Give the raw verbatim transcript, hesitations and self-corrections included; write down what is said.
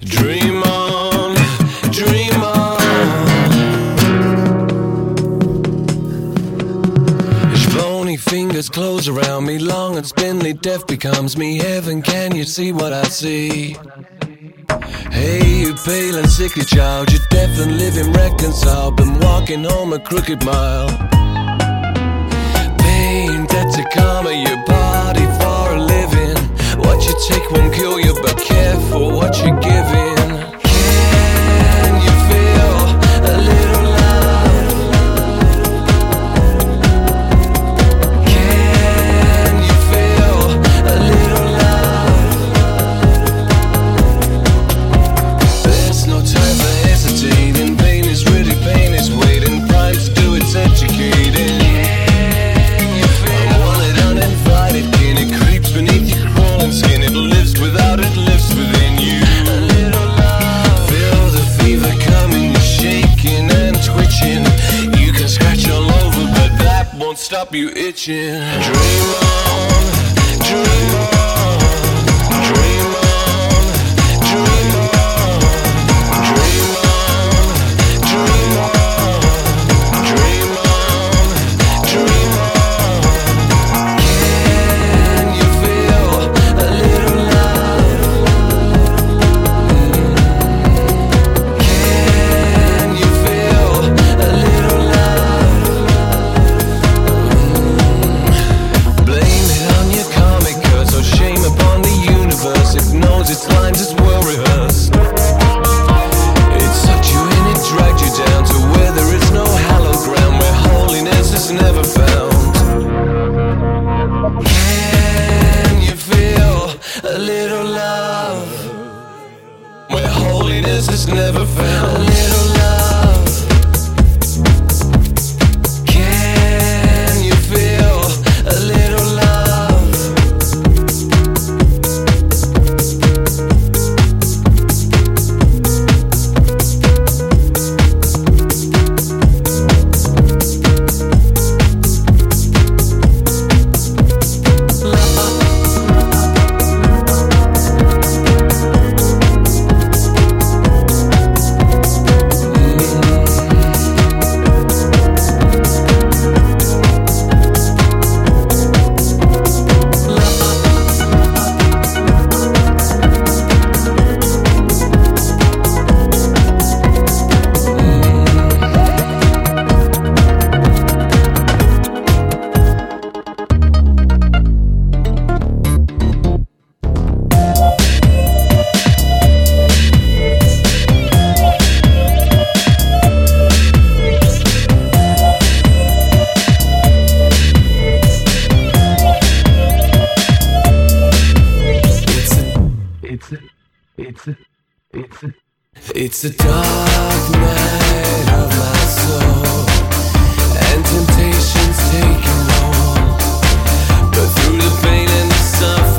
Dream on, dream on. His bony fingers close around me, long and spindly, death becomes me. Heaven, can you see what I see? Hey, you pale and sickly child, you're deaf and living reconciled, been walking home a crooked mile. Pain, that's a karma, your body for a living. What you take won't kill you, but careful what you're giving. Can you feel a little love? Can you feel a little love? There's no time for hesitating. Pain is ready, pain is waiting. Prime to do its educating. I want it uninvited, kin. It creeps beneath your crawling skin. It lives without it, lives within you. A little love. Feel the fever coming, you're shaking and twitching. You can scratch all over, but that won't stop you itching. Dream on, dream on, dream on, dream on, dream on, dream on, dream on, dream on. Can you feel a little love? Can you feel a little love? Blame it on your karmic curse, or shame upon the universe. It knows its lines, it's well rehearsed. It sucked you in, it dragged you down to where there is no hallowed ground, where holiness is never found. Can you feel a little love? Where holiness is never found. A little love. Can you feel a little love? It's a, it's a, it's a, it's a dark night of my soul, and temptation's taking hold. But through the pain and the suffering,